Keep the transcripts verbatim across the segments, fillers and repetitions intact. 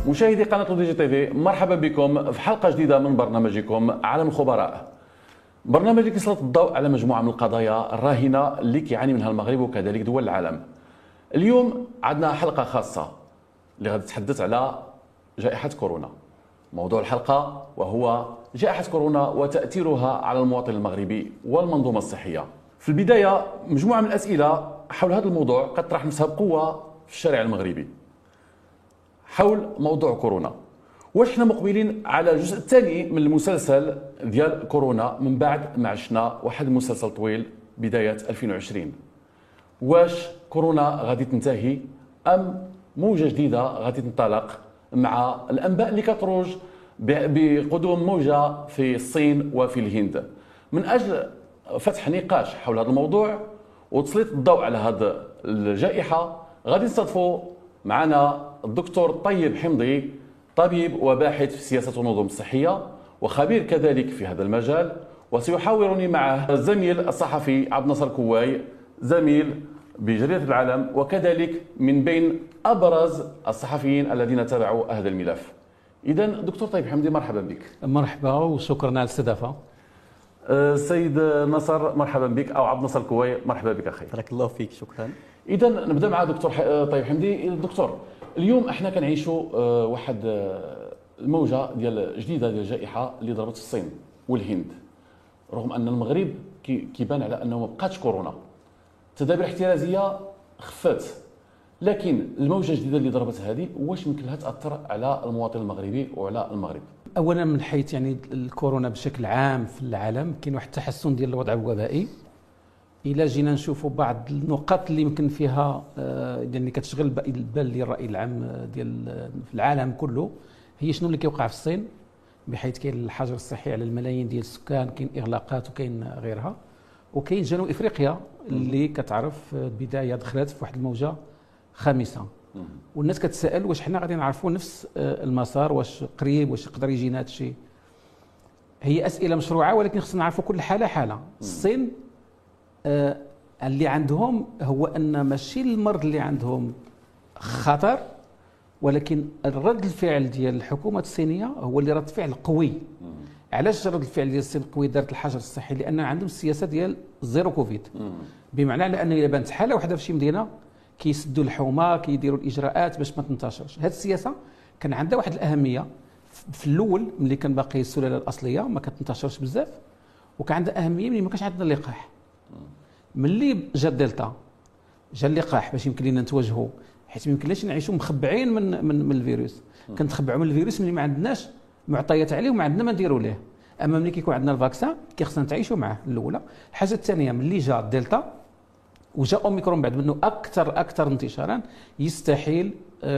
مشاهدي قناة دي جي تي في، مرحبا بكم في حلقة جديدة من برنامجكم عالم الخبراء. برنامج اللي كيسلط الضوء على مجموعة من القضايا الراهنة اللي كيعاني منها المغرب وكذلك دول العالم. اليوم عندنا حلقة خاصة اللي غادي تتحدث على جائحة كورونا. موضوع الحلقة وهو جائحة كورونا وتأثيرها على المواطن المغربي والمنظومة الصحية. في البداية مجموعة من الأسئلة حول هذا الموضوع قد تطرح نفسها بقوة في الشارع المغربي حول موضوع كورونا. واش حنا مقبلين على الجزء الثاني من المسلسل ديال كورونا من بعد ما عشنا واحد المسلسل طويل بداية ألفين وعشرين؟ واش كورونا غادي تنتهي ام موجة جديدة غادي تنطلق مع الانباء اللي كتروج بقدوم موجة في الصين وفي الهند؟ من اجل فتح نقاش حول هذا الموضوع وتسليط الضوء على هذه الجائحة غادي نستضيفوا معنا الدكتور طيب حمدي، طبيب وباحث في سياسة النظم الصحية وخبير كذلك في هذا المجال، وسيحاورني معه الزميل الصحفي عبد الناصر كواي، زميل بجريدة العالم وكذلك من بين أبرز الصحفيين الذين تابعوا هذا الملف. إذا دكتور طيب حمدي، مرحبا بك. مرحبا وشكرا على الاستضافة. السيد نصر مرحبا بك، أو عبد الناصر كواي مرحبا بك أخي. بارك الله فيك، شكرا. إذا نبدأ مع دكتور طيب حمدي. دكتور، اليوم احنا كنعيشوا واحد الموجه ديال جديده ديال الجائحه اللي ضربت في الصين والهند، رغم ان المغرب كيبان على انه ما بقاتش كورونا، التدابير الاحترازيه خفات، لكن الموجه الجديده اللي ضربت هذه واش يمكن لها تاثر على المواطن المغربي وعلى المغرب؟ اولا من حيث يعني الكورونا بشكل عام في العالم كاين واحد التحسن ديال الوضع الوبائي. الى جينا نشوفوا بعض النقاط اللي يمكن فيها يعني كتشغل البال ديال الراي العام ديال في العالم كله، هي شنو اللي كيوقع في الصين، بحيث كاين الحجر الصحي على الملايين ديال السكان، كاين اغلاقات وكاين غيرها، وكاين جنوب افريقيا اللي كتعرف بدايه دخلت في واحد الموجه خامسه، والناس كتسائل واش حنا غادي نعرفوا نفس المسار، واش قريب، واش يقدر يجينا هذا الشيء. هي اسئله مشروعه ولكن خصنا نعرفوا كل حاله حاله. الصين آه اللي عندهم هو ان ماشي المرض اللي عندهم خطر، ولكن الرد الفعل ديال الحكومه الصينيه هو اللي رد فعل قوي. علاش رد الفعل ديال الصين قوي؟ دارت الحجر الصحي لان عندهم السياسه ديال زيرو كوفيد، بمعنى على ان الا بانت حاله واحده في شي مدينه كيسدوا الحومه، كيديروا الاجراءات باش ما تنتشرش. هذه السياسه كان عندها واحد الاهميه في الاول ملي كان باقي السلاله الاصليه ما كتنتشرش بزاف، وكان عندها اهميه ملي ما كانش عندنا اللقاح. ملي جا الدلتا جا اللقاح باش يمكن لنا نتواجهوا، حيت ما يمكنلاش نعيشوا مخبعين من من, من الفيروس. كنتخبعوا من الفيروس ملي ما عندناش معطيات عليه وما عندنا ما نديروا ليه. اما ملي كيكون عندنا الفاكسان كيخصنا نتعايشوا معاه. الاولى. الحاجه الثانيه، ملي جا الدلتا وجا اوميكرون بعد منه اكثر اكثر انتشارا، يستحيل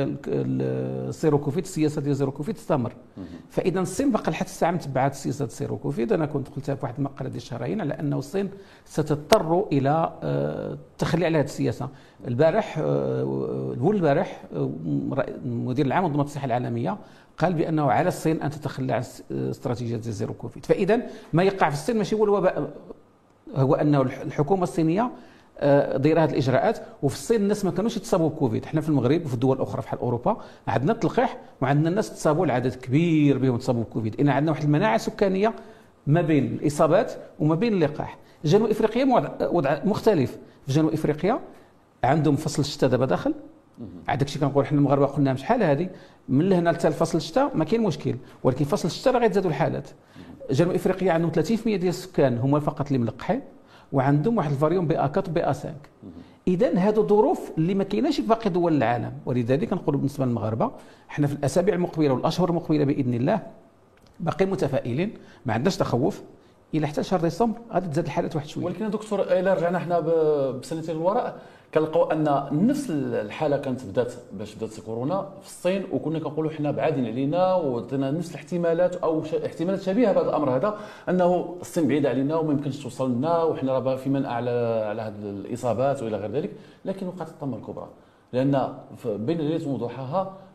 السيرو كوفيد، السياسه ديال زيرو كوفيد تستمر. فاذا الصين باقا لحد الساعه متبعات سياسه السيرو كوفيد. انا كنت قلتها في واحد المقاله ديال شهرين على انه الصين ستضطر الى التخلي على هذه السياسه. البارح الول البارح المدير العام لمنظمه الصحه العالميه قال بانه على الصين ان تتخلى عن استراتيجيه زيرو كوفيد. فاذا ما يقع في الصين ماشي هو الوباء، هو انه الحكومه الصينيه دايره هذه الاجراءات. وفي الصين الناس ما كانوش يتصابوا بكوفيد. حنا في المغرب وفي الدول الاخرى بحال اوروبا عندنا التلقيح وعندنا الناس تصابوا، العدد كبير بهم تصابوا بكوفيد. ان عندنا واحد المناعه سكانيه ما بين الاصابات وما بين اللقاح. جنوب افريقيا وضع مختلف. في جنوب افريقيا عندهم فصل الشتاء دابا داخل. هذاك الشيء كنقول حنا المغاربه قلنا شحال هذه من لهنا حتى فصل الشتاء ما كاين مشكل، ولكن فصل الشتاء راه غيتزادوا الحالات. جنوب افريقيا عندهم ثلاثين بالمئة ديال السكان هما فقط اللي ملقحين، وعندهم واحد الفاريون بي أربعة بي خمسة. اذا هذو ظروف اللي ما كايناش في باقي دول العالم، ولذلك نقول بالنسبه للمغاربه احنا في الاسابيع المقبله والاشهر المقبله باذن الله باقي متفائلين، ما عندناش تخوف. الى حتى شهر ديسمبر غادي تزاد الحالات واحد شويه. ولكن دكتور الى رجعنا حنا بسنتين للوراء كنلقاو ان نفس الحاله كانت بدات باش بدات كورونا في الصين، وكنا كنقولوا حنا بعادين علينا وعطينا نفس الاحتمالات او احتمالات شبيهه بهذا الامر هذا، انه الصين بعيده علينا وما يمكنش توصل لنا وحنا راه في منع على على هذه الاصابات والى غير ذلك. لكن وقعت الطامه الكبرى، لان بين ليله وضحاها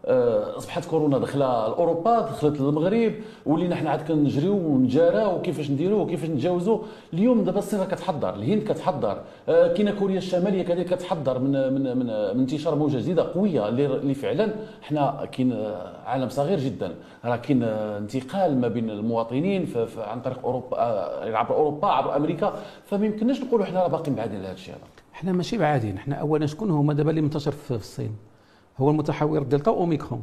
اصبحت كورونا داخله لاوروبا، دخلت للمغرب، ولينا حنا عاد كنجريو ونجاراو وكيفاش نديروا وكيفاش نتجاوزوا. اليوم دابا الصين كتحضر، الهند كتحضر، كاينه كوريا الشماليه كذلك كتحضر من من من, من انتشار موجه جديده قويه اللي فعلا حنا كاين عالم صغير جدا، راه كاين انتقال ما بين المواطنين عن طريق اوروبا، عبر اوروبا عبر امريكا، فما يمكنناش نقولوا حنا راه باقيين بعادين لهذا الشيء هذا. احنا ماشي بعادين، احنا اولا شكون هما دابا اللي منتشر في الصين؟ هو المتحور دلتا واوميكرون.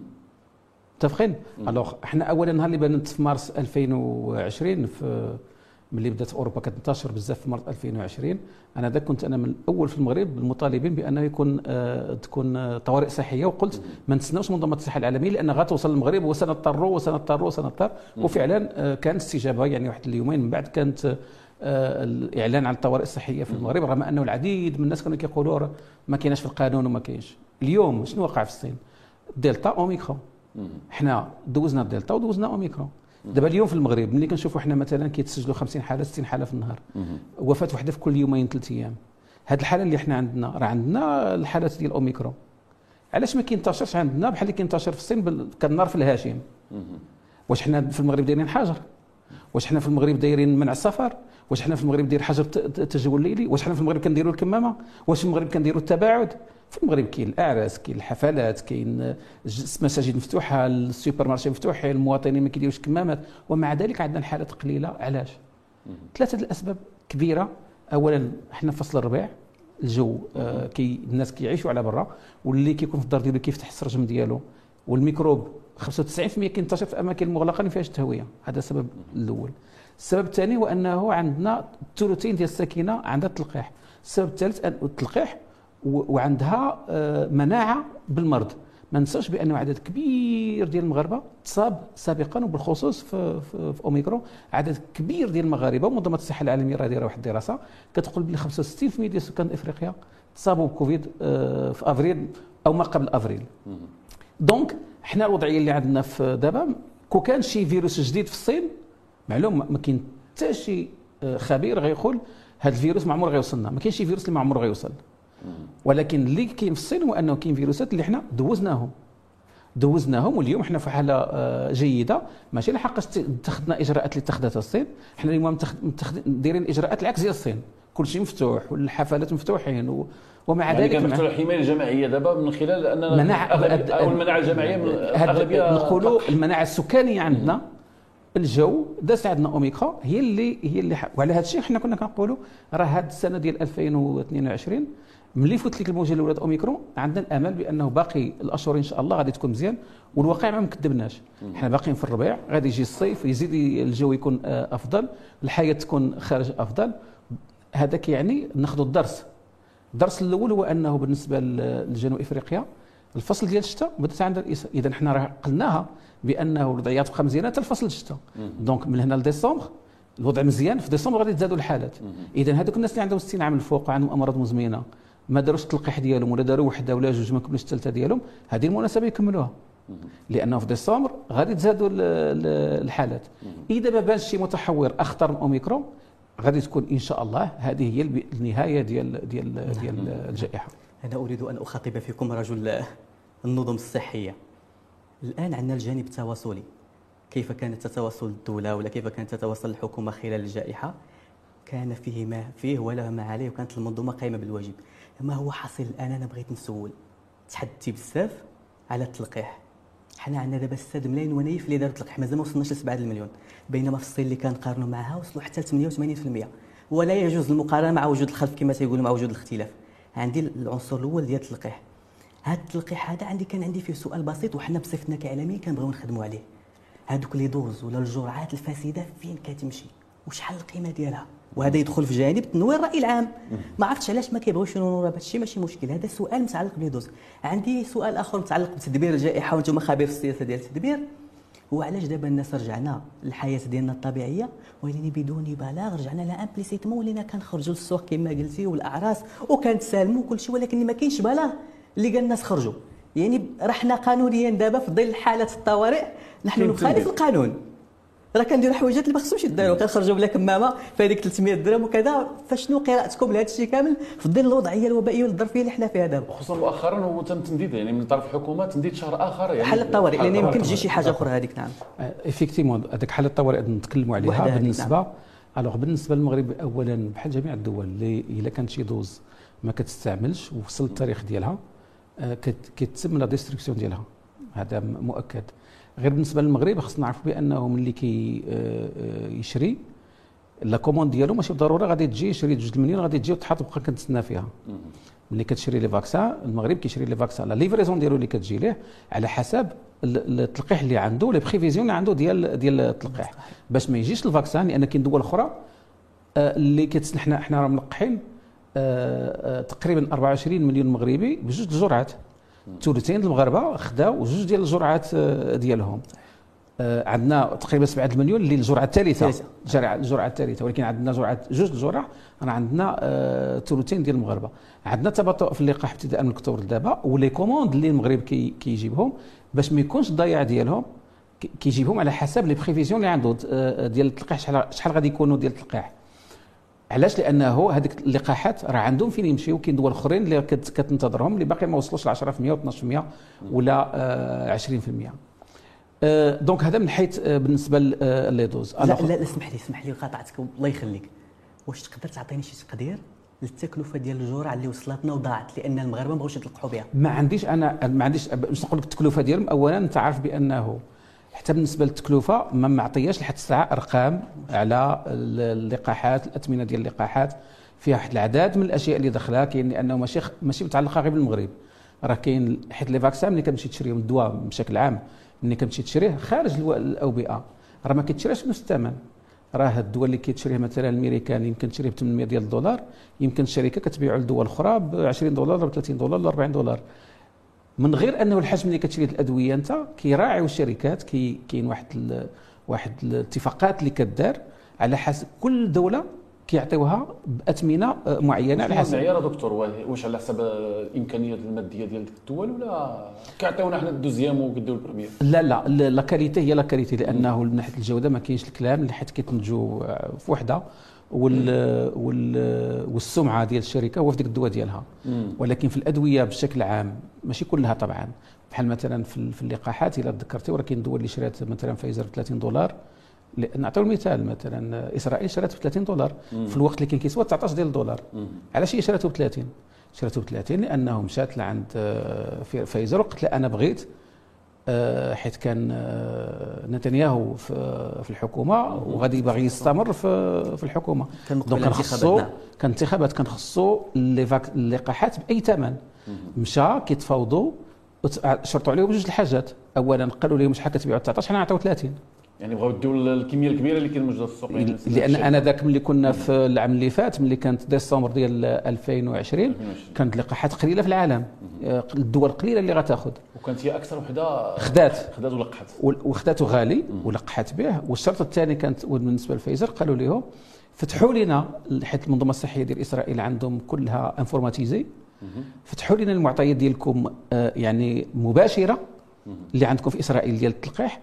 متفقين؟ الوغ احنا اولا نهار اللي بانت في مارس ألفين وعشرين، في ملي بدات اوروبا كتنتشر بزاف في مارس ألفين وعشرين، انا ذاك كنت انا من الاول في المغرب المطالبين بانه يكون آه تكون آه طوارئ صحيه، وقلت ما نتسناوش منظمه الصحه العالميه لان غتوصل للمغرب وسنضطروا وسنضطروا وسنضطر، وفعلا آه كانت استجابه. يعني واحد اليومين من بعد كانت آه الاعلان عن الطوارئ الصحيه في المغرب، رغم انه العديد من الناس كانوا كيقولوا ما كايناش في القانون وما كاينش. اليوم شنو وقع في الصين؟ دلتا اوميكرون. حنا دوزنا الدلتا ودوزنا اوميكرون. دابا اليوم في المغرب ملي كنشوفوا حنا مثلا كيتسجلوا خمسين حاله ستين حاله في النهار، وفاه وحده في كل يومين ثلاث ايام. هذه الحاله اللي حنا عندنا راه عندنا الحالات ديال اوميكرون، علاش ما كينتشرش عندنا بحال اللي كينتشر في الصين كالنار في الهاشم؟ واش حنا في المغرب دايرين حجر؟ واش حنا في المغرب دايرين منع السفر؟ واش حنا في المغرب داير حجر التجول الليلي؟ واش حنا في المغرب كنديروا الكمامه؟ واش في المغرب كنديروا التباعد؟ في المغرب كاين الاعراس، كاين الحفلات، كاين مساجد مفتوحه، السوبر مارشي مفتوحين، المواطنين ما كيديروش كمامات، ومع ذلك عندنا الحالات قليله. علاش؟ ثلاثه الاسباب كبيره. اولا حنا في فصل الربيع، الجو آه كي الناس كيعيشوا على برا، واللي كيكون في الدار ديالو كيفتح السرجم ديالو، والميكروب خمسة وتسعين بالمئة كينتشر في اماكن مغلقه ما فيهاش التهويه. هذا السبب الاول. السبب الثاني هو انه عندنا الثلثين ديال الساكنه عندها التلقيح. السبب الثالث التلقيح وعندها مناعه بالمرض. ما ننساش بانه عدد كبير ديال المغاربه تصاب سابقا، وبالخصوص في, في, في اوميكرون عدد كبير ديال المغاربه، ومنظمه الصحه العالميه راه دايره واحد الدراسه كتقول بلي خمسة وستين بالمئة ديال سكان افريقيا تصابوا بكوفيد في افريل او ما قبل افريل. دونك حنا الوضعيه اللي عندنا في دابا، كون كان شي فيروس جديد في الصين معلوم ما كاين حتى شي خبير غيقول هذا الفيروس ما عمره غيوصلنا، ما كاينش شي فيروس اللي ما عمره غيوصل. ولكن اللي كاين في الصين هو انه كاين فيروسات اللي حنا دوزناهم دوزناهم واليوم حنا في حاله جيده، ماشي لحقاش اتخذنا اجراءات اللي اتخذتها الصين. حنا اليوم دايرين اجراءات العكس ديال الصين، كل شيء مفتوح والحفلات مفتوحين و... ومع يعني ذلك كنفتحوا الحمايه الجماعيه دابا من خلال اننا مناعة او المناعه الجماعيه من الاغلبيه نقولوا المناعه السكانيه عندنا. الجو دازت عندنا اوميكرون هي اللي هي اللي ح... وعلى هذا الشيء حنا كنا كنقولوا راه هذه السنه ديال ألفين واثنين وعشرين ملي فوت لك الموجه الاولى اوميكرون عندنا الامل بانه باقي الاشهر ان شاء الله غادي تكون مزيان، والواقع ما مكذبناش. حنا باقيين في الربيع، غادي يجي الصيف يزيد الجو يكون افضل، الحياه تكون خارج افضل. هذا كيعني ناخذوا الدرس. الدرس الاول هو انه بالنسبه لجنوب افريقيا الفصل ديال الشتاء بدات عندها الإيصال. اذا حنا راه قلناها بانه الوضعيات تبقى مزيانه حتى الفصل الشتاء. دونك من هنا لديسمبر الوضع مزيان، في ديسمبر غادي تزادوا الحالات. اذا هذوك الناس اللي عندهم ستين عام الفوق وعندهم امراض مزمنه ما داروش التلقيح ديالهم ولا داروا وحده ولا جوج ما كملوش الثالثه ديالهم، هذه المناسبه يكملوها، لانه في ديسمبر غادي تزادوا الحالات. اذا ما بانش شي متحور اخطر من اوميكرون غادي تكون ان شاء الله هذه هي النهايه ديال ديال ديال الجائحه. انا اريد ان اخاطب فيكم رجل النظم الصحيه. الان عندنا الجانب التواصلي، كيف كانت تتواصل الدوله ولا كيف كانت تتواصل الحكومه خلال الجائحه، كان فيه ما فيه ولا ما عليه، وكانت المنظومه قائمه بالواجب. ما هو حاصل الان؟ انا بغيت نسول، تحدثتي بزاف على التلقيح. حنا عندنا دابا ستة ملايين ونايف اللي داروا التلقيح، مازال ما وصلناش ل سبعة المليون، بينما في الصين اللي كنقارنوا معها وصلوا حتى ل ثمانية وثمانين بالمئة. ولا يجوز المقارنه مع وجود الخلف كما تيقولوا، مع وجود الاختلاف. عندي العنصر الاول ديال التلقيح. هذا التلقيح هذا عندي كان عندي فيه سؤال بسيط، وحنا بصفتنا كاعلاميين كنبغيو نخدموا عليه. هذوك لي دوز ولا الجرعات الفاسده فين كتمشي؟ وشحال القيمه ديالها؟ وهذا يدخل في جانب تنوير الراي العام. ما عرفتش علاش ما كيبغيوش ينوروا. هذا الشيء ماشي مشكل، هذا سؤال متعلق بليدوز. عندي سؤال اخر متعلق بتدبير الجائحه، وانتم خبير في السياسه ديال التدبير. هو علاش دابا الناس رجعنا للحياه ديالنا الطبيعيه ولكن بدون بلاغ، رجعنا لا امبليسيتمون ولينا كنخرجوا للسوق كما قلتي والاعراس وكنتسالموا وكل شيء، ولكن ما كاينش بلاغ اللي قال الناس خرجوا. يعني رحنا قانونيا دابا في ظل حاله الطوارئ نحن نخالف القانون. راه كنديروا حويجات اللي ما خصهمش يداروا، كنخرجوا بلا كمامه في هذيك ثلاثمية درهم وكذا. فشنو قراءتكم لهذا الشيء كامل في ظل الوضعيه الوبائيه والظرفيه اللي حنا فيها دابا؟ خصوصا مؤخرا وتم تمديد يعني من طرف الحكومه تمديد شهر اخر يعني حل الطوارئ، لان يمكن تجي شي حاجه اخرى هذيك. نعم ايفيكتيمون هذيك حل الطوارئ نتكلموا عليها بالنسبه. نعم. الوغ بالنسبه للمغرب اولا بحال جميع الدول اللي الا كانت شي دوز ما كتستعملش ووصل التاريخ ديالها كيتم لا ديستركسيون ديالها، هذا مؤكد. غير بالنسبه للمغرب خصنا نعرفوا بانه ملي كي يشري لا كوموند ديالو ماشي بالضروره غادي تجي يشري جوج المليون غادي تجي وتحط وبقى كنتسنى فيها. ملي كتشري لي فاكسان المغرب كيشري لي فاكسان لا ليفريزون ديالو اللي كتجي ليه على حسب التلقيح اللي عنده، لي بريفيزيون اللي عنده ديال ديال التلقيح، باش ما يجيش الفاكسان. لان كاين دول اخرى اللي كتسنى حنا حنا راه ملقحين تقريبا أربعة وعشرين مليون مغربي بجوج الجرعات. ثلثين المغاربه خداو جوج ديال الجرعات ديالهم. عندنا تقريبا سبعة المليون اللي الجرعه الثالثه، الجرعه الثالثه، ولكن عندنا جرعه جوج الجرع راه عندنا ثلثين ديال المغاربه. عندنا تباطؤ في اللقاح ابتداء من اكتوبر دابا، ولي كوموند اللي المغرب كي كيجيبهم باش ما يكونش الضياع ديالهم كيجيبهم على حسب لي بريفيزيون اللي عنده ديال التلقيح. شحال شحال غادي يكونوا ديال التلقيح. علاش؟ لانه هذيك اللقاحات راه عندهم فين يمشيو. كاين دول اخرين اللي كتنتظرهم اللي باقي ما وصلوش ل عشرة بالمئة و اثناش بالمئة ولا عشرين بالمئة. دونك هذا من حيث بالنسبه لي دوز. لا لا اسمح لي اسمح لي قاطعتك الله يخليك. واش تقدر تعطيني شي تقدير للتكلفه ديال الجرعه اللي وصلتنا وضاعت لان المغاربه ما بغاوش يتلقحوا بها؟ ما عنديش انا ما عنديش باش نقول لك التكلفه ديالهم. اولا انت عارف بانه حتى بالنسبه للتكلفه ما معطياش لحد الساعه ارقام على اللقاحات، الاثمنه ديال اللقاحات فيها واحد العدد من الاشياء اللي داخلها. كاين لانه ماشي ماشي متعلقه غير بالمغرب، راه كاين حيت لي فاكسان ملي كتمشي تشريهم الدواء بشكل عام ملي كتمشي تشريه خارج الاوبئه راه ما كيتشراش بنفس الثمن. راه الدول اللي كيتشريه مثلا الامريكان يمكن تشريه ب ثمانمئة ديال الدولار، يمكن الشركه كتبيعه لدول اخرى ب عشرين دولار ولا ب ثلاثين دولار ولا أربعين دولار. من غير انه الحجم اللي كتشري الادويه انت كيراعيو الشركات. كي كاين واحد ال واحد الاتفاقات اللي كدار على حسب كل دوله كيعطيوها باثمنه معينه على حسب المعيار. دكتور واش على حسب الامكانيات الماديه ديال الدول ولا كيعطيونا حنا الدوزيام وكيديو البريمير؟ لا لا لا كاليتي هي لا كاليتي، لانه من ناحيه الجوده ما كاينش الكلام اللي حيت كيتنتجوا في وحده وال وال والسمعه ديال الشركه هو في ديك الدواء ديالها. ولكن في الادويه بشكل عام ماشي كلها طبعا. بحال مثلا في, في اللقاحات الا تذكرتي راه كاين دول اللي شرات مثلا فايزر ب ثلاثين دولار. نعطيو المثال مثلا اسرائيل شرات ب ثلاثين دولار في الوقت اللي كان كيسوى تسعطاش ديال الدولار. علاش هي شراته ب ثلاثين؟ شراته ب ثلاثين لانه مشات لعند فايزر وقالت لا انا بغيت، حيت كان نتنياهو في الحكومه وغادي باغي يستمر في الحكومه. دونك كان خصو كان انتخابات كان خصو اللقاحات باي ثمن. مشى كيتفاوضوا شرطوا عليه بجوج الحاجات. اولا قالوا لهم شحال كتبيعوا تسعطاش، حنا نعطيو ثلاثين. يعني بغاو يديو الكميه الكبيره اللي كاين موجوده في السوق. لان انا ذاك ملي كنا في العام اللي فات ملي كانت ديسمبر ديال ألفين وعشرين كانت اللقاحات قليله في العالم. الدول قليله اللي غتاخذ وكانت هي اكثر وحده خدات خدات ولقحت وخداته غالي ولقحت به. والشرط الثاني كانت بالنسبه للفايزر قالوا لهم فتحوا لنا، حيت المنظمه الصحيه ديال اسرائيل عندهم كلها انفورماتيزي، فتحوا لنا المعطيات ديالكم يعني مباشره اللي عندكم في اسرائيل ديال التلقيح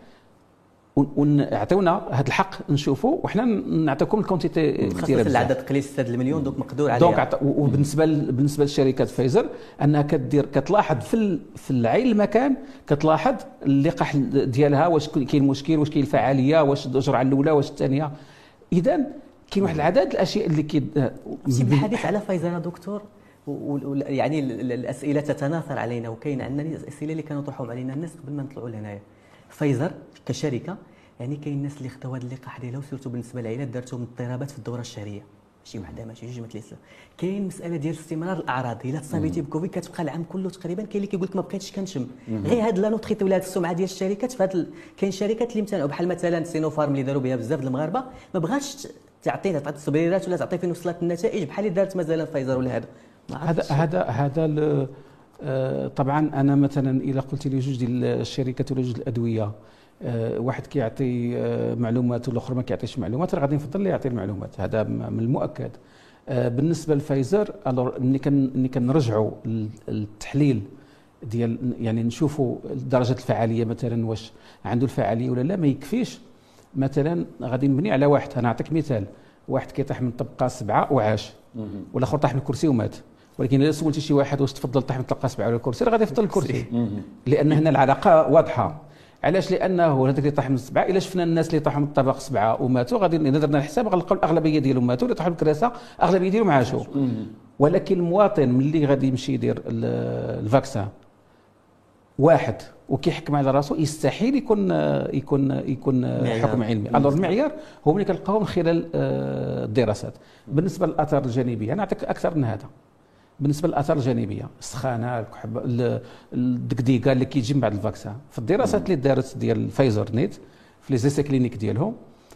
ونعطيونا هذا الحق نشوفوا وحنا نعطيكم الكونتيتي كثيره بزاف. العدد قليل ستة المليون دونك مقدور عليها. دونك وبالنسبه بالنسبه لشركات فايزر انها كدير كتلاحظ في في العين المكان كتلاحظ اللقاح ديالها واش كاين مشكل، واش كاين الفعاليه، واش الجرعه الاولى، واش الثانيه. اذا كاين واحد العدد الاشياء اللي كي بالحديث على فايزر دكتور يعني الاسئله تتناثر علينا وكاين عندنا الاسئله اللي كانوا يطرحوهم علينا الناس قبل ما نطلعوا لهنايا. فايزر كشركه يعني كاين الناس اللي خداو هذا اللقاح ديالها وسيرتو بالنسبه للعائلات دارتهم اضطرابات في الدوره الشهريه، ماشي وحده ماشي جوج ما ثلاثه. كاين مساله ديال استمرار الاعراض، الا تصابيتي بكوفيد كتبقى العام كله تقريبا. كاين اللي كيقول لك ما بقيتش كنشم. غير هاد لا نوتريتي ولا هاد السمعه ديال الشركات في هاد كاين شركات اللي امتنعوا بحال مثلا سينوفارم اللي داروا بها بزاف المغاربه ما بغاش تعطينا تعطي التبريرات ولا تعطي فين وصلت النتائج بحال اللي دارت مثلا فايزر ولا هذا. هذا هذا هذا طبعا انا مثلا الا قلت لي جوج ديال الشركات ولا جوج الادويه واحد كيعطي معلومات والاخر ما كيعطيش معلومات، راه غادي نفضل اللي يعطي المعلومات. هذا من المؤكد. بالنسبه لفايزر ملي كان ملي كنرجعوا التحليل ديال يعني نشوفوا درجه الفعاليه مثلا واش عنده الفعاليه ولا لا، ما يكفيش مثلا غادي نبني على واحد، انا نعطيك مثال، واحد كيطيح من طبقه سبعه وعاش، والاخر طاح من الكرسي ومات. ولكن اذا سولتي شي واحد واش تفضل طاح من طبقه سبعه ولا الكرسي، راه غادي يفضل الكرسي، لان هنا العلاقه واضحه. علاش؟ لانه هذاك اللي طاح من سبعه، الا شفنا الناس اللي طاحوا من الطبق سبعه وماتوا، غادي اذا درنا الحساب غنلقاو الاغلبيه ديالهم ماتوا، اللي طاحوا من الكراسه اغلبيه ديالهم عاشوا. ولكن المواطن ملي غادي يمشي يدير الفاكسان واحد وكيحكم على راسو، يستحيل يكون يكون يكون حكم علمي. الو المعيار هو ملي كنلقاوه من خلال الدراسات. بالنسبه للاثار الجانبيه نعطيك اكثر من هذا. بالنسبه للاثار الجانبيه، السخانه، الكحب، الدكديكه اللي كيجي من بعد الفاكسان، في الدراسات اللي دارت ديال فايزر نيت في لي زيسي كلينيك ديالهم،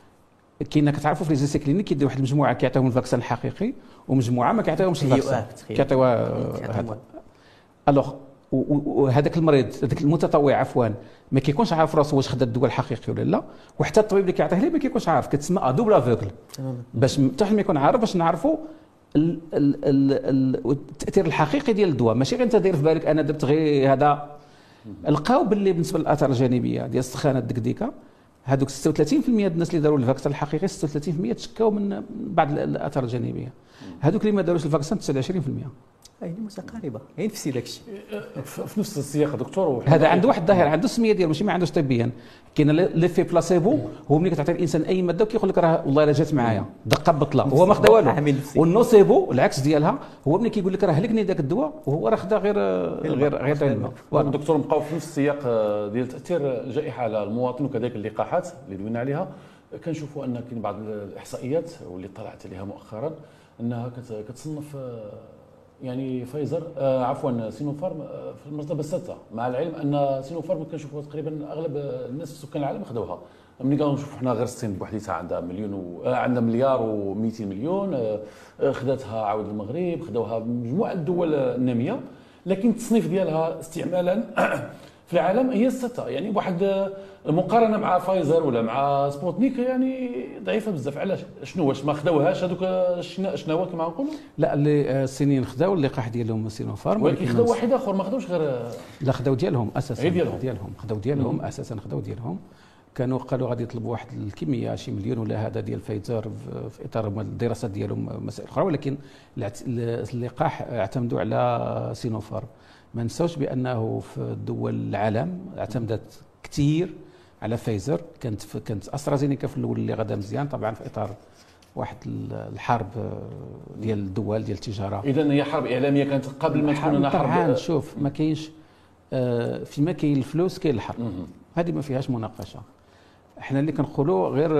كاين كتعرفوا في لي زيسي كلينيك كيدير واحد المجموعه كيعطيهم الفاكسان الحقيقي ومجموعه ما كيعطيوهمش الفاكسان، كيعطيوها هذا. الوغ وهذاك المريض هذاك المتطوع عفوا ما كيكونش عارف راسو واش خدا الدواء الحقيقي ولا لا، وحتى الطبيب اللي كيعطيه ليه ما كيكونش عارف، كتسمى ادوبل افوكل، باش حتى حد ما يكون عارف باش نعرفوا ال ال ال التاثير الحقيقي ديال الدواء، ماشي غير انت داير في بالك انا درت غير هذا. لقاو باللي بالنسبه للاثار الجانبيه ديال السخانه الدكديكه، هذوك ستة وثلاثين بالمئة ديال الناس اللي داروا الفاكسان الحقيقي ستة وثلاثين بالمئة تشكاو من بعض الاثار الجانبيه. هذوك اللي ما داروش الفاكسان تسعة وعشرين بالمئة. هي متقاربه، هي نفسي داك الشيء في نفس السياق دكتور. هذا عنده واحد الظاهره، عنده السميه ديالو ماشي ما عندوش طبيا. كاين ليفي بلاسيبو، هو ملي كتعطي الانسان اي ماده وكيقول لك راه والله الا جات معايا دقه بطله، هو ما خدا والو. والنوسيبو العكس ديالها، هو ملي كيقول لك راه هلكني ذاك الدواء وهو راه خدا غير غير غير تاع الماء. دكتور نبقاو في نفس السياق ديال تاثير الجائحه على المواطن وكذلك اللقاحات اللي دوينا عليها. كنشوفوا ان كاين بعض الاحصائيات واللي طلعت عليها مؤخرا انها كتصنف يعني فايزر آه عفوا سينوفارم آه في المرتبه السادسه، مع العلم ان سينوفارم كنشوفوا تقريبا اغلب الناس في سكان العالم خذوها. ملي كنشوفوا حنا غير الصين بوحديتها عندها مليون و... آه عندها مليار و200 مليون، آه خذاتها عاود المغرب، خذوها مجموعه الدول الناميه، لكن التصنيف ديالها استعمالا في العالم هي السادسه. يعني بواحد المقارنه مع فايزر ولا مع سبوتنيك يعني ضعيفه بزاف. علاش؟ شنو واش ما خداوهاش هذوك الشناوات كما نقولوا؟ لا، اللي الصينيين خداو اللقاح ديالهم سينوفارم، ولكن خداو واحد اخر ما خداوش غير. لا خداو ديالهم اساسا، ديالهم ديالهم خداو ديالهم اساسا خداو ديالهم. كانوا قالوا غادي يطلبوا واحد الكميه شي مليون ولا هذا ديال فايزر في اطار الدراسات ديالهم مسائل اخرى، ولكن اللقاح اعتمدوا على سينوفارم. ما نساوش بانه في دول العالم اعتمدت كثير على فايزر. كانت كانت استرازينيكا في الاول اللي غدا مزيان، طبعا في اطار واحد الحرب ديال الدول ديال التجاره. اذا هي حرب اعلاميه كانت قبل ما تكون حرب. طبعا شوف، ما كاينش فيما كاين الفلوس كاين الحرب، هذه ما فيهاش مناقشه. احنا اللي كنقولوا غير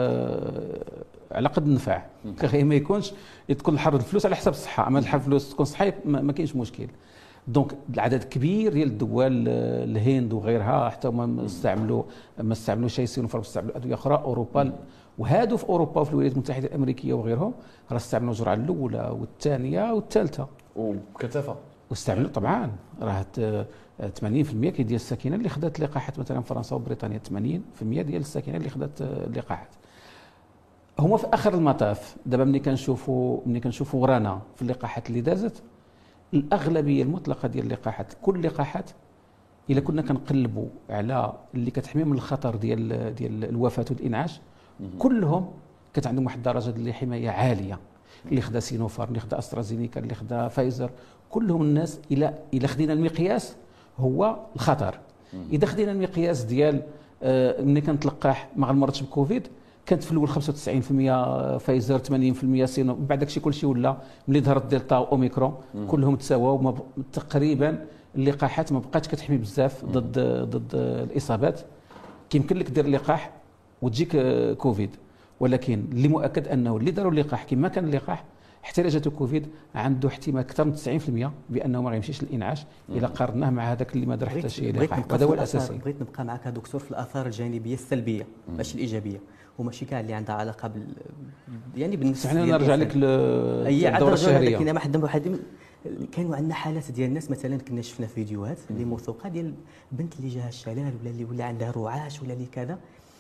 على قد النفع، غير ما يكونش تكون الحرب الفلوس على حساب الصحه، اما الحرب الفلوس تكون صحيه ما كاينش مشكل. دونك العدد كبير ديال الدول، الهند وغيرها حتى ما استعملوا ما استعملوا شيء سينوفارم، استعملوا ادويه اخرى. اوروبا وهادو في اوروبا وفي الولايات المتحده الامريكيه وغيرهم راه استعملوا الجرعه الاولى والثانيه والثالثه وبكثافه. واستعملوا طبعا راه ثمانين بالمئة كي ديال الساكنه اللي خدات لقاحات، مثلا فرنسا وبريطانيا ثمانين بالمئة ديال الساكنه اللي خدات اللقاحات. هما في اخر المطاف دابا ملي كنشوفوا ملي كنشوفوا ورانا في اللقاحات اللي دازت، الاغلبيه المطلقه ديال اللقاحات، كل اللقاحات الا كنا كنقلبوا على اللي كتحمي من الخطر ديال ديال الوفاه والانعاش، كلهم كانت عندهم واحد الدرجه ديال الحمايه عاليه. اللي خدا سينوفارم، اللي خدا استرازينيكا، اللي خدا فايزر، كلهم الناس الى الى خدينا المقياس هو الخطر. اذا خدينا المقياس ديال آه ملي كانت لقاح ما غنمرضش بكوفيد، كانت في الاول خمسة وتسعين بالمئة فايزر، ثمانين بالمئة سينو، بعد داكشي كلشي ولا ملي ظهرت دلتا واوميكرون كلهم تساواو تقريبا. اللقاحات ما بقاتش كتحمي بزاف ضد ضد الاصابات. كيمكن لك دير لقاح وتجيك كوفيد، ولكن اللي مؤكد انه اللي داروا اللقاح كما كان اللقاح حتى الا جاتو كوفيد عنده احتمال اكثر من تسعين بالمئة بانه ما غيمشيش للانعاش الا قارناه مع هذاك اللي ما دار حتى شي لقاح. هذا هو الاساسي. بغيت نبقى معك دكتور في الاثار الجانبيه السلبيه ماشي الايجابيه، وماشي كاع اللي عندها علاقه بال يعني بالنسبه حنا نرجع لك للدوره الشهريه. كاين واحد واحد كانوا عندنا حالات ديال الناس، مثلا كنا شفنا فيديوهات اللي موثوقه ديال بنت اللي جاها الشلال ولا اللي ولا عندها رعاش ولا اللي كذا،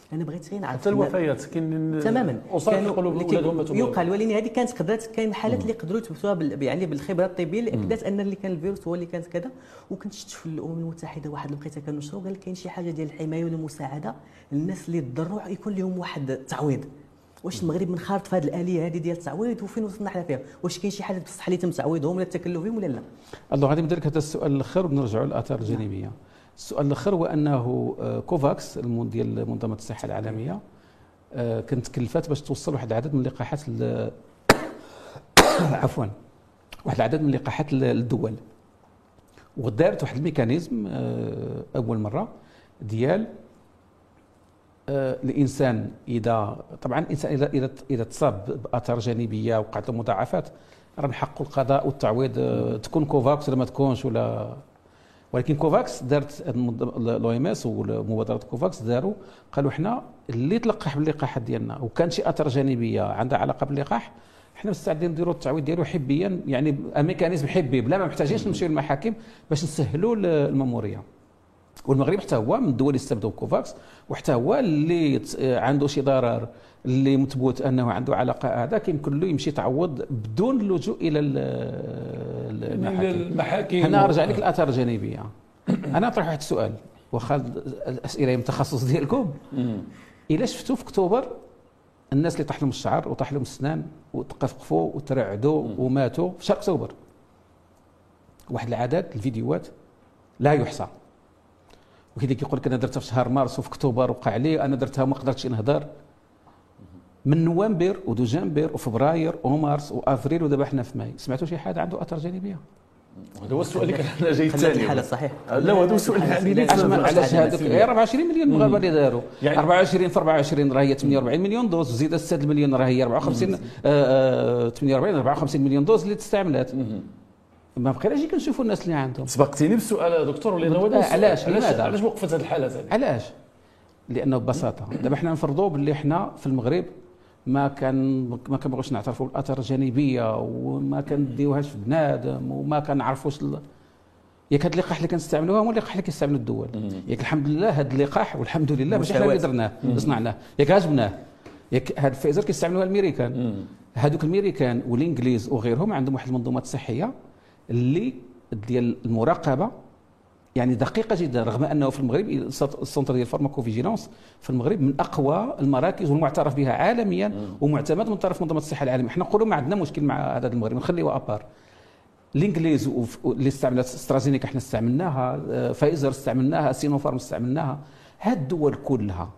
انا بغيت غير نعرف حتى الوفيات كاين تماما اسر كيقولوا ولادهم ماتوا. يقال، ولكن هذه كانت قدرات، كاين حالات اللي قدروا يثبتوها بال... يعني بالخبره الطبيه اللي اكدت ان اللي كان الفيروس هو اللي كانت كذا. وكنت شفت في الامم المتحده واحد لقيتها كنشروا قال كاين شي حاجه ديال الحمايه والمساعده للناس اللي تضروا يكون لهم واحد التعويض. واش المغرب منخرط في هذه الاليه هذه ديال التعويض وفين وصلنا حنا فيها؟ واش كاين شي حاجه بصح اللي تم تعويضهم ولا التكلف بهم ولا لا؟ الله غادي نبدا لك هذا السؤال الاخر ونرجعوا للاثار الجانبيه. السؤال الاخر هو انه كوفاكس ديال منظمه الصحه العالميه كانت تكلفات باش توصل واحد العدد من اللقاحات عفوا واحد العدد من اللقاحات للدول، ودارت واحد الميكانيزم اول مره ديال الانسان اذا طبعا الانسان اذا اذا اذا تصاب باثار جانبيه وقعت له مضاعفات راه من حقه القضاء والتعويض، تكون كوفاكس ولا ما تكونش ولا. ولكن كوفاكس دارت الاو ام اس ومبادره كوفاكس داروا قالوا احنا اللي تلقح باللقاحات ديالنا وكان شي اثار جانبيه عندها علاقه باللقاح احنا مستعدين نديروا التعويض ديالو حبيا، يعني ميكانيزم حبي بلا ما محتاجينش نمشيو للمحاكم باش نسهلوا الماموريه. والمغرب حتى هو من الدول اللي استبدوا كوفاكس، وحتى هو اللي عنده شي ضرر اللي مثبوت انه عنده علاقه هذا كيمكن له يمشي يتعوض بدون اللجوء الى المحاكم. انا ارجع لك الاثار الجانبيه. انا اطرح واحد السؤال واخا الاسئله من التخصص ديالكم. الا شفتوا في اكتوبر الناس اللي طاح لهم الشعر وطاح لهم السنان وتقفقفوا وترعدوا وماتوا في شهر اكتوبر، واحد العدد الفيديوهات لا يحصى. وكذا كيقول لك انا درتها في شهر مارس وفي اكتوبر وقع لي، انا درتها وما قدرتش نهضر. من نوفمبر ودجنبر وفبراير ومارس وافريل ودابا حنا في ماي، سمعتوا شي حد عنده اثار جانبيه؟ هذا هو السؤال اللي كان جاي الثاني. الحاله صحيح. لا هذا هو السؤال اللي علاش هذوك أربعة وعشرين مليون مغاربه اللي داروا يعني أربعة وعشرين في أربعة وعشرين راه هي ثمانية وأربعين مليون دوز، زيد ستة المليون راه هي أربعة وخمسين ثمانية وأربعين أربعة وخمسين مليون دوز اللي تستعملات. ما بقيناش كنشوفوا الناس اللي عندهم. سبقتيني بالسؤال دكتور ولا علاش لماذا علاش وقفت هذه الحاله هذه؟ علاش؟ لانه ببساطه دابا حنا نفرضوا باللي حنا في المغرب ما كان ما كنبغيوش نعترفوا بالاثار الجانبيه وما كنديوهاش في بنادم وما كنعرفوش ال... ياك هاد اللقاح اللي كنستعملوها هو اللقاح اللي كيستعملوا الدول. ياك الحمد لله هاد اللقاح والحمد لله ماشي حنا اللي درناه صنعناه، ياك عجبناه. ياك هاد فايزر كيستعملوها الامريكان، هادوك الامريكان والانجليز وغيرهم عندهم واحد المنظومات صحيه اللي ديال المراقبه يعني دقيقه جدا، رغم انه في المغرب السنتر ديال فارماكوفيجيلانس في المغرب من اقوى المراكز والمعترف بها عالميا ومعتمد من طرف منظمه الصحه العالميه. احنا نقولوا ما عندنا مشكل مع هذا المغرب، نخليوه ابار. الانجليز اللي استعملت استرازينيكا احنا استعملناها، فايزر استعملناها، سينوفارم استعملناها، هاد الدول كلها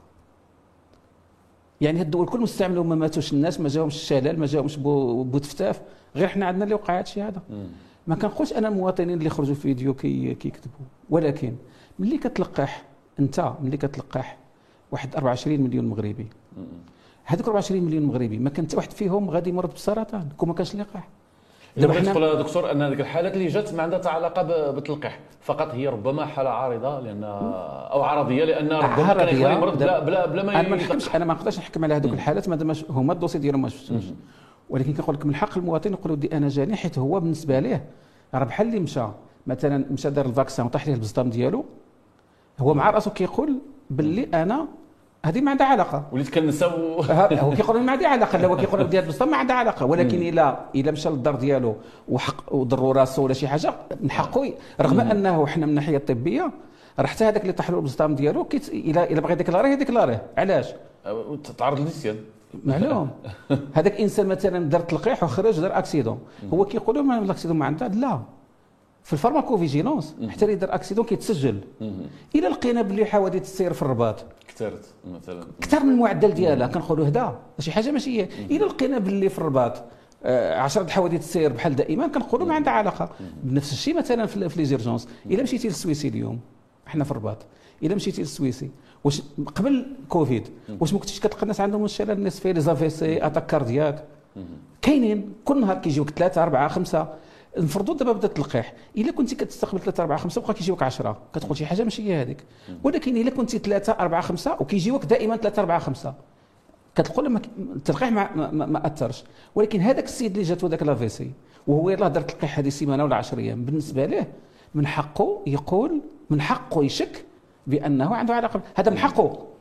يعني هاد الدول كلهم استعملوا ما ماتوش الناس، ما جاهمش الشلل، ما جاهمش بوتفتاف، غير احنا عندنا اللي وقع هادشي هذا. ما كنقولش انا المواطنين اللي خرجوا في فيديو كي كيكذبوا، ولكن ملي كتلقح انت ملي كتلقح واحد أربعة وعشرين مليون مغربي، هذوك أربعة وعشرين مليون مغربي ما كان حتى واحد فيهم غادي يمرض بالسرطان كون ما كانش لقاح. دابا حنا تقول دكتور ان هذيك الحالات اللي جات ما عندها حتى علاقه بالتلقيح، فقط هي ربما حاله عارضه لان او عرضيه لان ربما كان يكون يمرض بلا بلا, بلا ما انا ما نحكمش، انا ما نقدرش نحكم على هذوك الحالات مادام هما الدوسي ديالهم ما شفتوش. ولكن كنقول لك من حق المواطن يقول ودي انا جاني، حيت هو بالنسبه ليه راه بحال اللي مشى مثلا مشى دار الفاكسان وطاح ليه البزطام ديالو، هو مع راسو كيقول باللي انا هذه ما عندها علاقه، وليت كنساو هو كيقول ما عندها علاقه، لا هو كيقول ديال البزطام ما عندها علاقه. ولكن الا الا مشى للدار ديالو وحق وضروا راسو ولا شي حاجه من حقه، رغم انه حنا من الناحيه الطبيه راه حتى هذاك اللي طاح له البزطام ديالو كيت... الا الا بغى ديكلاريه ديكلاريه. علاش؟ تعرض للنسيان معلوم. هذاك انسان مثلا دار تلقيح وخرج دار اكسيدون، هو كيقولوا ما الاكسيدون ما عندها، لا في الفارماكوفيجيلونس حتى اللي دار اكسيدون كيتسجل. الى لقينا باللي حوادث السير في الرباط كثرت مثلا اكثر من المعدل ديالها كنقولوا هدا شي حاجه ماشي هي. الى لقينا باللي في الرباط عشرة حوادث السير بحال دائما كنقولوا ما عندها علاقه. بنفس الشيء مثلا في لي زيرجونس، الى مشيتي للسويسي اليوم احنا في الرباط، الى مشيتي للسويسي واش قبل كوفيد واش ما كنتيش كتلقى الناس عندهم الشلل النصفي لي زافيسي اتاك كاردياك؟ كاينين كل نهار كيجيوك ثلاثه اربعه خمسه. نفرضوا دابا بدا التلقيح، الا كنتي كتستقبل ثلاثه اربعه خمسه بقى كيجيوك عشرة كتقول شي حاجه ماشي هي هذيك. ولكن الا كنتي ثلاثه اربعه خمسه وكيجيوك دائما ثلاثه اربعه خمسه كتقول لما التلقيح ما, ما, ما اثرش. ولكن هذاك السيد اللي جاتو ذاك لافيسي وهو يلاه دار التلقيح هذه سيمانه ولا عشرة ايام، بالنسبه له من حقه يقول، من حقه يشك بانه عنده علاقه، هذا من حقه.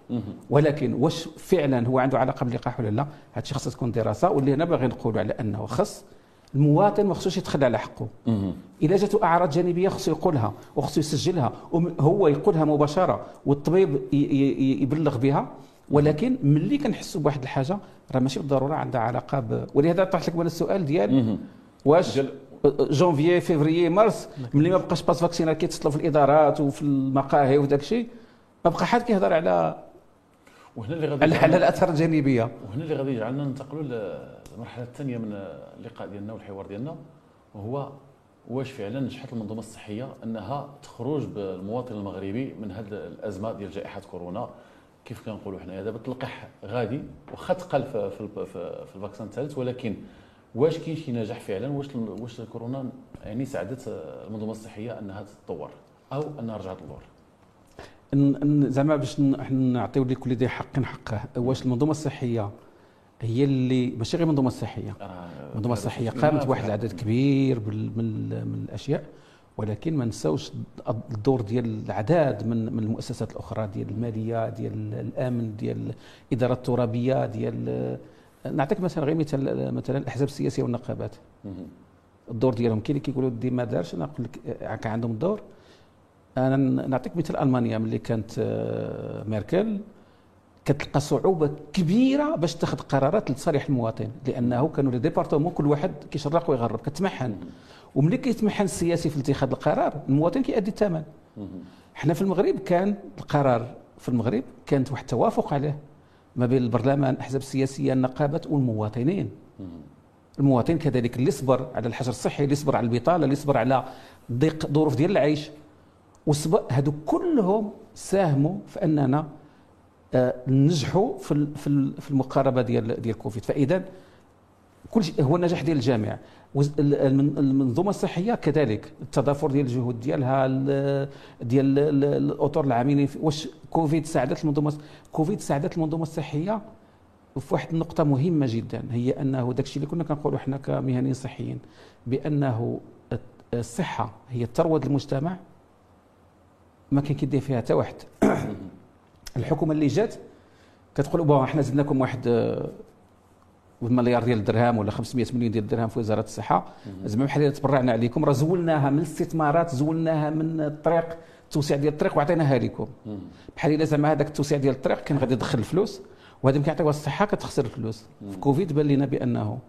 ولكن واش فعلا هو عنده علاقه باللقاح ولا لا؟ هذا الشيء خاصها تكون دراسه، واللي هنا باغي نقولوا على انه خص المواطن ما خصوش يتخلى على حقه. اذا جاته اعراض جانبيه خصو يقولها وخصو يسجلها، وهو يقولها مباشره والطبيب يبلغ بها. ولكن ملي كنحسوا بواحد الحاجه راه ماشي بالضروره عندها علاقه ب... ولهذا طرحت لك انا السؤال ديال واش جونفيي فيفريي مارس ملي ما بقاش باس فاكسينال كيتصلوا في الادارات وفي المقاهي وداك الشيء، ما بقى حد كيهضر على وهنا اللي غادي على الاثار الجانبيه. وهنا اللي غادي يجعلنا ننتقلوا للمرحله الثانيه من اللقاء ديالنا والحوار ديالنا، وهو واش فعلا نجحت المنظومه الصحيه انها تخرج بالمواطن المغربي من هذه الازمه ديال جائحه كورونا. كيف كنقولوا حنايا دابا التلقيح غادي واخا تقل في في في الفاكسان الثالث، ولكن واش كاين شي نجاح فعلا؟ واش واش كورونا يعني ساعدت المنظومه الصحيه انها تتطور او انها رجعت للور؟ زعما باش نعطيو لكل ذي حق حقه، واش المنظومه الصحيه هي اللي ماشي غير المنظومه الصحيه، المنظومه الصحيه قامت بواحد العدد كبير من من الاشياء، ولكن ما نساوش الدور ديال العداد من من المؤسسات الاخرى، ديال الماليه، ديال الامن، ديال الاداره الترابيه، ديال نعطيك مثلا غير مثال، مثلا الاحزاب السياسيه والنقابات الدور ديالهم. كاين اللي كيقولوا دي ما دارش، انا نقول لك كان عندهم الدور. انا نعطيك مثال المانيا ملي كانت ميركل كتلقى صعوبه كبيره باش تاخذ قرارات لصالح المواطن، لانه كانوا لي ديبارتمون كل واحد كيشرق ويغرب كتمحن، وملي كيتمحن السياسي في اتخاذ القرار المواطن كيأدي الثمن. حنا في المغرب كان القرار في المغرب كانت واحد التوافق عليه ما بين البرلمان، الاحزاب السياسيه، النقابات والمواطنين. المواطن كذلك اللي صبر على الحجر الصحي، اللي صبر على البطاله، اللي صبر على ضيق ظروف ديال العيش، وصبر هادو كلهم ساهموا في اننا آه ننجحوا في في المقاربه ديال ديال كوفيد. فاذا كل شيء هو النجاح ديال الجامعه. المنظومه الصحيه كذلك التضافر ديال الجهود ديالها ديال الاطر العاملين. واش كوفيد ساعدت المنظومه كوفيد ساعدت المنظومه الصحيه في واحد النقطه مهمه جدا، هي انه داك الشيء اللي كنا كنقولوا حنا كمهنيين صحيين بانه الصحه هي الثروه المجتمع، ما كان كيدير فيها حتى واحد. الحكومه اللي جات كتقول بون احنا زدناكم واحد مليار ديال الدرهم ولا خمسمائة مليون ديال الدرهم في وزاره الصحه، زعما بحال تبرعنا عليكم، راه زولناها من الاستثمارات، زولناها من الطريق، التوسيع ديال الطريق وعطيناها لكم. بحال الا زعما هذاك التوسيع ديال الطريق كان غادي يدخل الفلوس، وهذا كيعطيوها الصحه كتخسر الفلوس. في كوفيد بان لنا بانه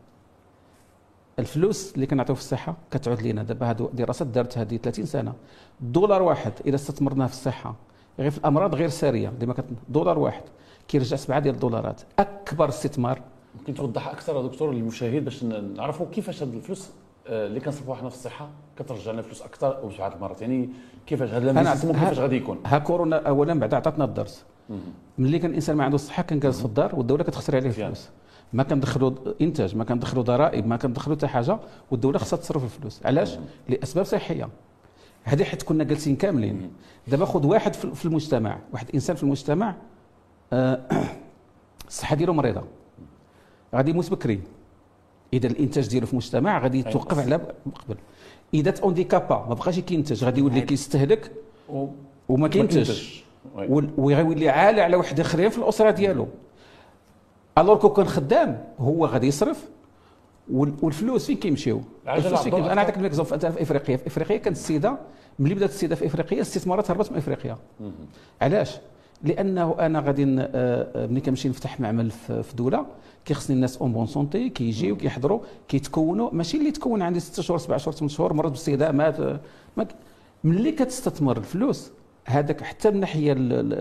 الفلوس اللي كنعطيو في الصحه كتعود لنا. دابا هذو دراسات دارت هذه ثلاثين سنه، دولار واحد اذا استثمرناه في الصحه غير في الامراض غير ساريه اللي ما كت... دولار واحد كيرجع سبعه ديال الدولارات. اكبر استثمار. ممكن توضح اكثر دكتور للمشاهد باش نعرفوا كيفاش هذه الفلوس اللي كنصرفوها حنا في الصحه كترجع لنا فلوس اكثر وبسبعه المرات، يعني كيفاش هذا الميكانيزم كيفاش غادي يكون؟ ها كورونا اولا بعد عطاتنا الدرس. ملي كان الانسان ما عنده الصحه كان جالس في الدار والدوله كتخسر عليه الفلوس، ما كندخلوا انتاج، ما كندخلوا ضرائب، ما كندخلوا حتى حاجه، والدوله خصها تصرف الفلوس. علاش؟ لاسباب صحيه. هذه حيت كنا جالسين كاملين. دابا خذ واحد في المجتمع، واحد انسان في المجتمع آه الصحه ديالو مريضه، غادي يموت بكري. اذا الانتاج ديالو في المجتمع غادي يتوقف على قبل. اذا اونديكابا ما بقاش كينتج غادي يولي كيستهلك وما كينتجش، ويولي عالة على واحد اخرين في الاسره ديالو. الوغ كون كان خدام هو غادي يصرف، والفلوس فين كيمشيو؟ الفلوس فين كيمشيو؟ انا نعطيك الاكزومبل مثلا في افريقيا. في افريقيا كانت السيده ملي بدات السيده في افريقيا الاستثمارات هربت من افريقيا. علاش؟ لانه انا غادي ملي كنمشي نفتح معمل في دوله كيخصني الناس اون بون سونتي كيجيو كيحضروا كيتكونوا، ماشي اللي تكون عندي ستة شهور سبعة شهور ثمانية شهور مرض بالسيده مات. ملي كتستثمر الفلوس هذاك حتى من الناحيه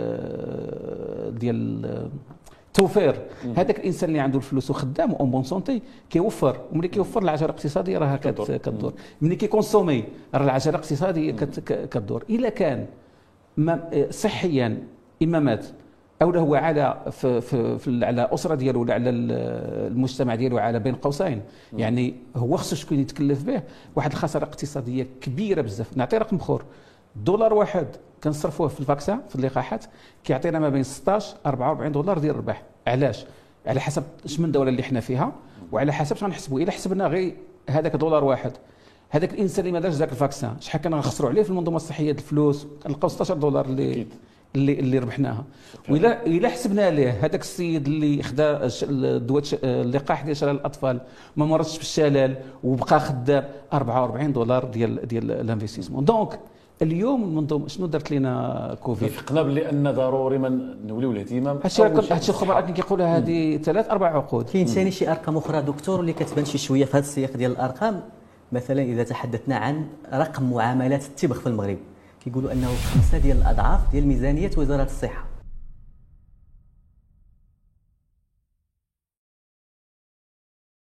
ديال التوفير، هذاك الانسان اللي عنده الفلوس وخدام اون بون سونتي كيوفر، وملي كيوفر العجله الاقتصاديه راها كتدور. ملي كيكونسومي راه العجله الاقتصاديه كتدور. الا كان صحيا اما مات او هو على في, في, في على اسره ديالو ولا على المجتمع ديالو على بين قوسين، يعني هو خصو شكون يتكلف به واحد الخساره اقتصاديه كبيره بزاف. نعطي رقم اخر، دولار واحد كنصرفوه في الفاكسان في اللقاحات كيعطينا ما بين ستطاش أربعة وأربعين دولار ديال الربح. علاش؟ على حسب اش من الدوله اللي حنا فيها، وعلى حسب اش غنحسبوا. الا حسبنا غير هذاك دولار واحد، هذاك الانسان اللي ما دارش ذاك الفاكسان شحال كنا غنخسروا عليه في المنظومه الصحيه د الفلوس؟ نلقاو ستطاش دولار اللي اللي اللي ربحناها. وإلا إلا حسبنا ليه هذاك السيد اللي خدا الدواء اللقاح ديال شلل الاطفال ما مرضش بالشلل وبقى خدام أربعة وأربعين دولار ديال ديال الانفستيسمون. دونك اليوم المنظومه شنو درت لنا كوفيد؟ فقنا بلي ان ضروري ما نوليو الاهتمام. هادشي هادشي الخبراء اللي كيقولوا هذه ثلاث اربع عقود. كاين ثاني شي ارقام اخرى دكتور اللي كتبان شي شويه في هذا السياق ديال الارقام. مثلا اذا تحدثنا عن رقم معاملات التبغ في المغرب كيقولوا انه خمسه ديال الاضعاف ديال ميزانيه وزاره الصحه.